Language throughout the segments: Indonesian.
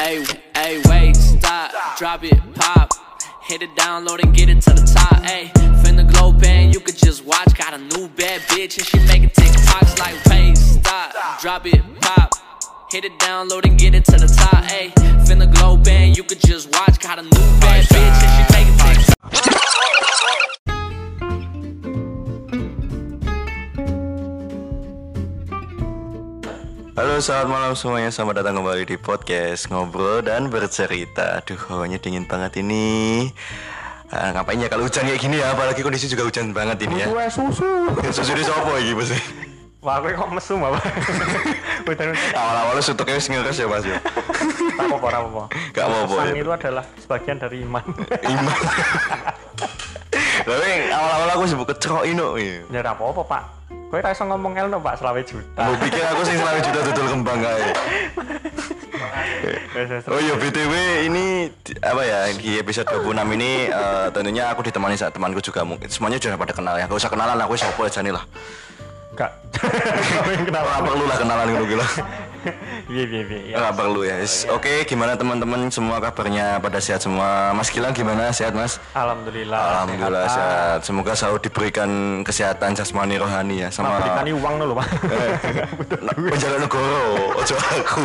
Ay, wait, stop, drop it, pop. Hit it, download and get it to the top. Ay, finna glow band, you could just watch. Got a new bad bitch and she making TikToks like, wait, stop, drop it, pop. Hit it, download and get it to the top. Ay, finna glow band, you could just watch. Got a new bad bitch and she making TikToks. Halo, selamat malam semuanya. Selamat datang kembali di podcast Ngobrol dan Bercerita. Aduh, hawanya dingin banget ini. Ngapain ya kalau hujan kayak gini ya? Apalagi kondisi juga hujan banget ini ya. Susu di sopo iki, Bos? Wah, aku kok mesum apa? Hujan-hujan. Awal-awalnya sutuknya wis ngeres ya, Mas ya. Tak apa-apa. Gak apa-apa. Sang itu adalah sebagian dari iman. Iman. Tapi awal-awal aku sebut kecerok ino. Ya ora apa-apa, Pak. Kowe ra iso ngomong elno, Pak, 20 juta. Mau pikir aku sing 20 juta dodol kembang kae. Oh iya, BTW ini apa ya, di episode 26 ini tentunya aku ditemani sama temanku juga. Mungkin semuanya sudah pada kenal ya. Gak usah kenalan, aku siapa aja nih lah. Gak. Kenapa? Gak perlu lah kenalan gitu lah. Iya. Gak perlu ya. Oke, gimana teman-teman semua kabarnya, pada sehat semua? Mas Gilang gimana? Sehat, Mas? Alhamdulillah sehat. Semoga selalu diberikan kesehatan jasmani rohani ya, sama berikan uang dulu, Pak. Penjaga negara, ojo aku.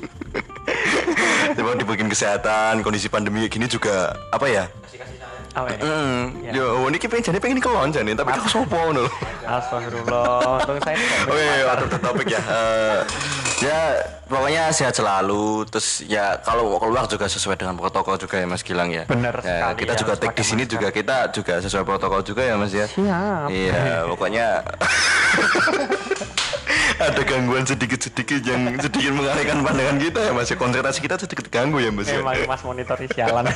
Coba diberikan kesehatan, kondisi pandemi gini juga apa ya? Apa ini? Yo, ini pengen kelon jane, tapi aku sopo ngono. Astagfirullah. Untung saya. Oke, waktu topik ya. Ya, pokoknya sehat selalu. Terus ya kalau keluar juga sesuai dengan protokol juga ya, Mas Gilang ya. Benar ya, sekali. kita juga take di sini juga kita juga sesuai protokol juga ya, Mas ya. Siap. Iya, pokoknya ada gangguan sedikit-sedikit yang sedikit mengalihkan pandangan kita ya, Mas. Konsentrasi kita sedikit terganggu ya, Mas. Mas monitor sialan.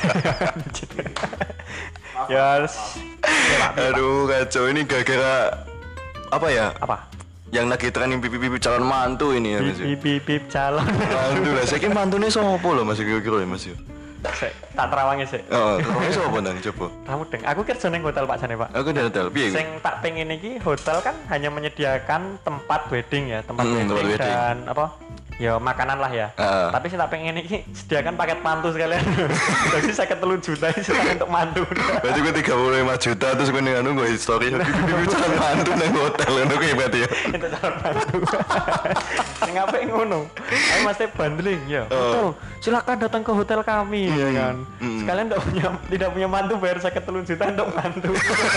Yes. Aduh, kacau ini gara-gara apa ya? Apa? Yang lagi trending pipi-pipi calon mantu ini ya, Mas. Pipi calon. Mantu lah, saya kira mantunya sopo loh, Mas, kira-kira ya, Mas. Tak terawangnya sih. Oh, terawangnya sopo nang coba. Kamu deng, aku kerja neng hotel Pak jane, Pak. Aku di hotel, piye? Sing tak pengen iki hotel kan hanya menyediakan tempat wedding ya, tempat wedding dan apa? Ya makanan lah ya. Tapi sing tak pengen iki sediakan paket mantu sekalian. Jadi 53 juta itu untuk mantu. Berarti gue 35 juta terus gue nih anu gue story pipi-pipi calon mantu nang hotel ngono kuwi berarti ya. Itu calon mantu. Sing apik ngono. Ayo Mas bundling ya. Betul. Silakan datang ke hotel kami ya kan. Sekalian tidak punya mantu bayar 53 juta untuk mantu.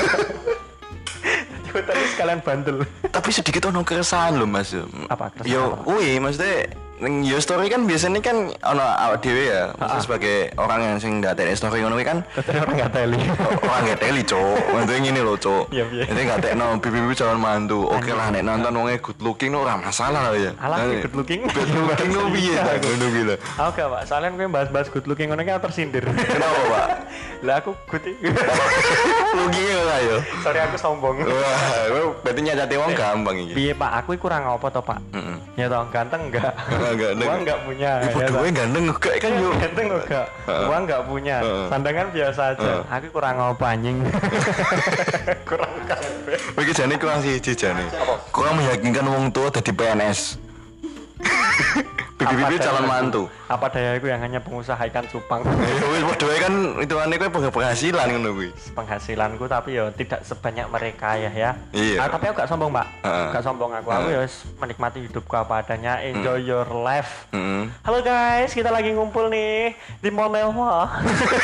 Hotel sekalian bandel. Tapi sedikit ono keresahan loh, Mas. Apa keresahan? Yo, maksudnya ning yo story kan biasanya kan ono awak dhewe ya, sebagai orang yang sing ndak tele story ngono kan. Orang enggak teli. Orang enggak teli, Cuk. Maksudnya ngene lho, Cuk. Iya. Ini enggak tekno pipi-pipi calon mantu. Oke lah nek nonton wonge good looking ora masalah lah ya. Alah good looking. Good looking lo piye ta ngono ki lho. Oke, Pak. Soalnya gue bahas-bahas good looking ngono kan tersindir. Kenapa, Pak? Lah aku good. Looking ora yo. Sorry aku sombong. Wah, berarti nyacati wong gampang iki. Piye, Pak? Aku kurang apa to, Pak? Ya toh, ganteng enggak? Ganteng. Uang enggak punya. Gue ganteng enggak kan yo. Ganteng enggak? Uang enggak punya. Sandangan biasa aja. Aku kurang apa anjing. Kurang kabeh. Iki jane kurang siji jane. Kurang meyakinkan wong tua dadi PNS. Pipi-pipi calon mantu. Apa daya aku yang hanya pengusaha ikan cupang. Ya wis padha kan hitungane kowe penghasilan ngono kuwi. Penghasilanku tapi ya tidak sebanyak mereka ya. Iya. Tapi aku gak sombong, Pak. Gak sombong aku. Aku ya menikmati hidupku apa adanya. Enjoy your life. Halo guys, kita lagi ngumpul nih di Mall Mewah.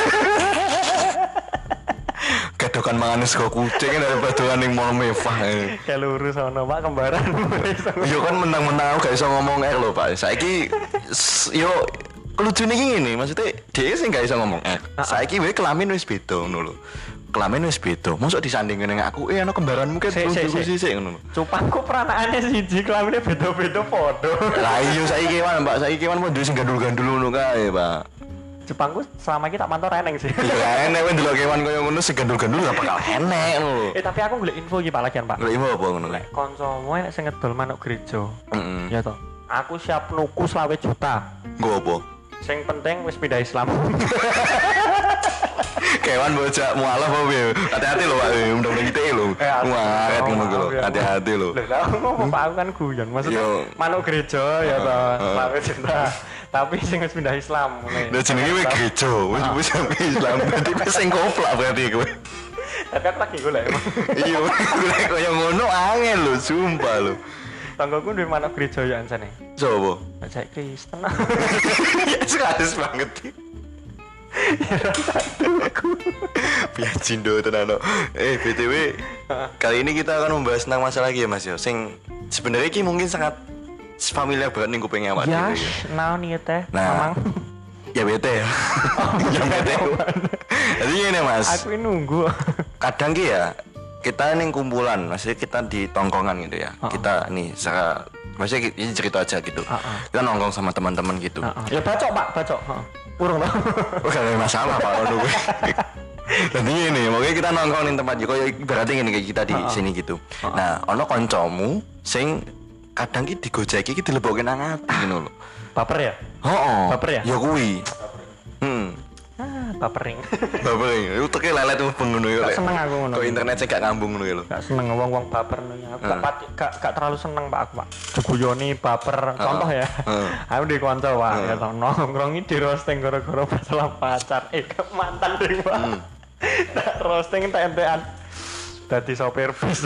Gadokan mangan sego kucing kan daripada ning mall mewah. Kayak lurus sono, Pak, kembaran. Yo kan menang-menang gak iso ngomong lho, Pak. Saiki yo lucunya gini, maksudnya dia sih gak iso ngomong saiki wae kelamin wis beda ngono lho. Kelamin wis beda. Mosok disandingke ning aku, ana kembaranmu kan sik ngono lho. Cupangku peranaane siji, kelamine beda-beda padha. Lah iya saiki kewan, Mbak. Saiki kewan mau duwe sing gandul-gandul ngono kae, Pak. Jepangku selama ini tak pantau reneng sih. Ya enek wae ndelok kewan koyo ngono sing gandul-gandul gak bakal enek ngono lho. Tapi aku golek info iki Pak lagian, Pak. Golek info apa ngono lho? Kancamu nek sing ngedol manuk gereja. Ya toh. Aku siap nuku 20 juta. Nggo apa? Sing penting wis pindah Islam. Kewan bocah mualaf apa ya? Hati-hati lho Pak, undang-undang ITE lho. Muaret ngono lho. Hati-hati lho. Lah ngomong Pak aku kan guyon. Maksudnya manuk gereja ya toh. Selawe cinta. Tapi sing wis pindah Islam ngene. Lah jenenge wis gereja, wis Islam. Berarti wis sing koplak berarti kowe. Tapi aku lagi golek. Iya, golek koyo ngono angel lho, sumpah lho. Tanggoku duwe manuk gereja ya ancane. Sopo? Cek Kristen. Ya sekaligus banget. Piacindo tenan. BTW kali ini kita akan membahas tentang masalah lagi ya Mas yo. Sing sebenarnya iki mungkin sangat familiar banget ning kuping awak dhewe ya. Naon ieu teh? Nah, ya bete ya. Ya bete. Jadi ini Mas. Aku nunggu. Kadang ki ya kita ning kumpulan, maksudnya kita di tongkongan gitu ya. Kita nih secara maksudnya ini cerita aja gitu. Kita nongkrong sama teman-teman gitu. Ya bacok Pak, bacok. Urung loh. Gak ada masalah Pak kalau gue. Dan ini, makanya kita nongkrong di tempat juga, berarti ini kayak kita di sini gitu. Nah, ono koncomu, sing kadang ki digojeki ki dilebokke nang ati ngono lho. Baper ya? Baper ya? Ya kuwi. Bapering. Bapering. Iku teke lelet tuh pengono yo. Gak seneng aku ngono. Kok internet sing gak ngambung ngono lho. Gak seneng wong-wong baper ngono. Aku gak terlalu seneng Pak aku, Pak. Diguyoni baper. Contoh ya. Aku di kanca Pak, ya tau nongkrongi di roasting gara-gara masalah pacar. Mantan ding Pak. Tak roasting entek-entekan. Dadi sopir bis.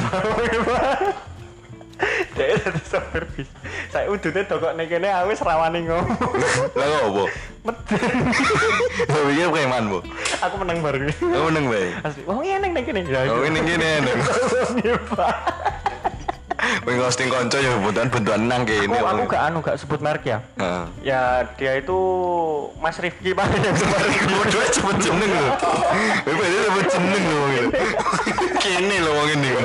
Dia dadi sopir bis. Saya udune dokok ning kene aku wis rawani ngomong. Lah opo? Medeng. Lah piye preman, Bu? Aku menang baru. Aku menang bae. Asli. Wong ngene ning kene ya. Oh, ning kene enak. Wong hosting konco ya bentukan nang kene. Aku gak sebut merek ya. Ya dia itu Mas Rifki Pak yang Bodoh sebut jeneng lho. Bapak dia sebut jeneng lho gitu. Kene lho wong ini.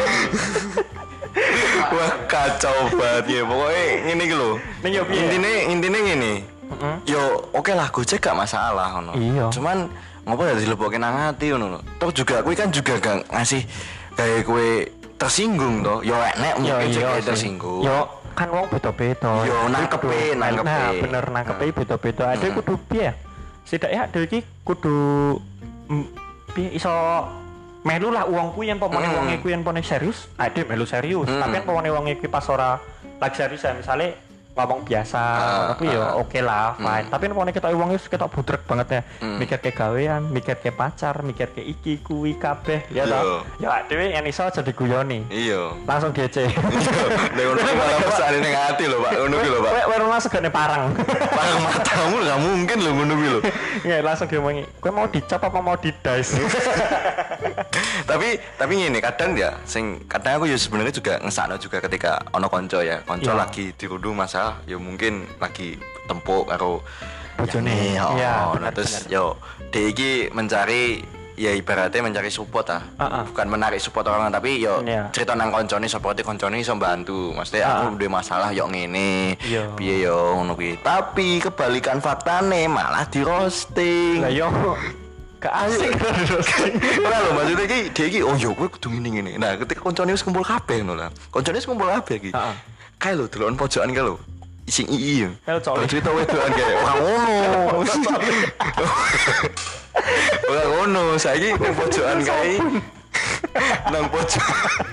Wah kacau banget ya. Pokoknya ngene iki lho. Intine ngene. Yo oke lah Gojek gak masalah ngono. Cuman ngopo ya dilebokke nang ati ngono lho. Toh juga kuwi kan juga gak ngasih gawe kowe tersinggung toh. Yo enek mungkin tersinggung. Yo kan wong beda-beda. Yo nangkepe. Nah, bener nangkepe beda-beda. Ade kudu piye? Setidaknya ade iki kudu piye iso melu lah uangku yang pemone wonge ku yang pone serius. Ade melu serius. Tapi pemone wonge ku pas ora lagi serius ya misale ngomong biasa, tapi ya oke lah, fine. Tapi pokoknya kita uangnya kita budrek banget ya. Mikir ke gawean, mikir ke pacar, mikir ke iki kuwi kabeh, ya toh. Ya dhewe yang iso jadi guyoni. Iya. Langsung DC. Iya. Nek ngono malah pesane ning ati lho, Pak. Ngono ki lho, Pak. Kowe ora masuk gane parang. Parang matamu enggak mungkin lho ngono ki lho. Ya langsung diomongi, kowe mau dicap apa mau didice? Tapi ngene kadang ya sing kadang aku ya sebenarnya juga ngesakno juga ketika ono konco ya. Konco lagi dirundung masa ya mungkin lagi tempuk karo bojone. Iya, terus yo dhek iki mencari ya ibaratnya mencari support bukan menarik support orang tapi yo cerita nang koncone supporte koncone iso bantu. Maksudnya aku duwe masalah yo ngene. Piye yo ngono kuwi. Tapi kebalikan faktane malah di roasting. Lah yo asik ora lho maksudnya iki dhek iki oh yo kowe kudu ngene. Nah, ketika koncone wis kumpul kabeh ngono lah. Koncone wis kumpul kabeh iki. Kae lho delokon pojokan kae lho. Sing ii. Cerita wedokan kae ora ngono. Ora ngono, saiki nang pojokan kae. Nang pojok.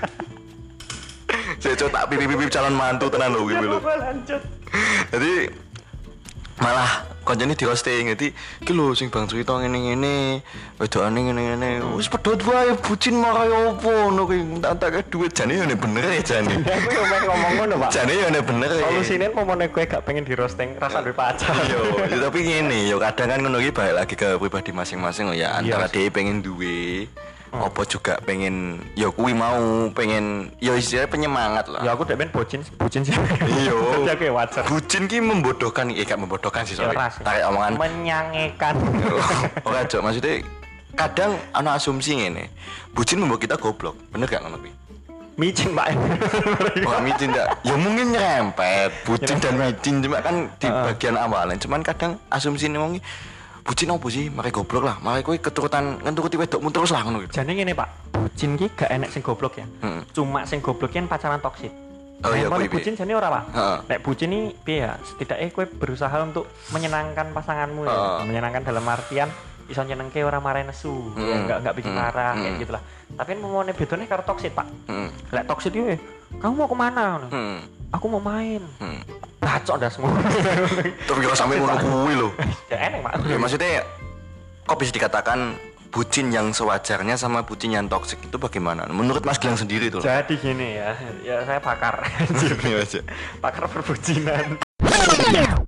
Saya tak pipip calon mantu tenan lho kuwi lho. Jadi malah koncone di roasting. Jadi iki lho sing bang cerita ngene-ngene, wedokane ngene-ngene. Wis pedhot wae bucin marai opo ngono kuwi. Tak duit jane yo bener ya jane. Aku yo ngomong ngono, Pak. Jane yo bener. Solusine pomone kowe gak pengen di roasting, rasa duwe pacar. Yo, tapi ngene yo kadang kan ngono iki balik lagi ke pribadi masing-masing ya. Antara dhewe pengen duwe apa juga pengen ya kuwi mau pengen ya istilahnya penyemangat lah. Ya aku dek ben bucin sih. Iya. Jadi wajar. Bucin ki membodohkan gak membodohkan sih sorry. Tarik omongan menyangekan. Ora Cok, maksudnya kadang ana asumsi ngene. Bucin membuat kita goblok. Bener gak ngono kuwi? Micin Pak. Wah micin enggak? Ya mungkin nyerempet. Bucin dan micin cuma kan di bagian awalnya. Cuman kadang asumsi wong bucin opo sih? Mare goblok lah. Mare kowe keturutan ngenturuti wedokmu terus lah ngono gitu. Jane ngene Pak, bucin ki gak enek sing goblok ya. Cuma sing goblok ki pacaran toksik. Oh iya kuwi. Bucin jane ora Pak. Nek bucin iki piye ya? Setidaknya kowe berusaha untuk menyenangkan pasanganmu ya. Menyenangkan dalam artian iso nyenengke ora marahin nesu, ya enggak bikin marah kayak gitulah. Tapi momone bedone karo toksit, Pak. Lek toksit yo, kamu mau kemana? Aku mau main. Bacok dah semua. Tapi kalau sampai ngono kuwi lho. Ya enak, Pak. Ya maksudnya kok bisa dikatakan bucin yang sewajarnya sama bucin yang toksik itu bagaimana? Menurut Mas Gilang sendiri tuh. Jadi gini ya saya pakar. Pakar perbucinan.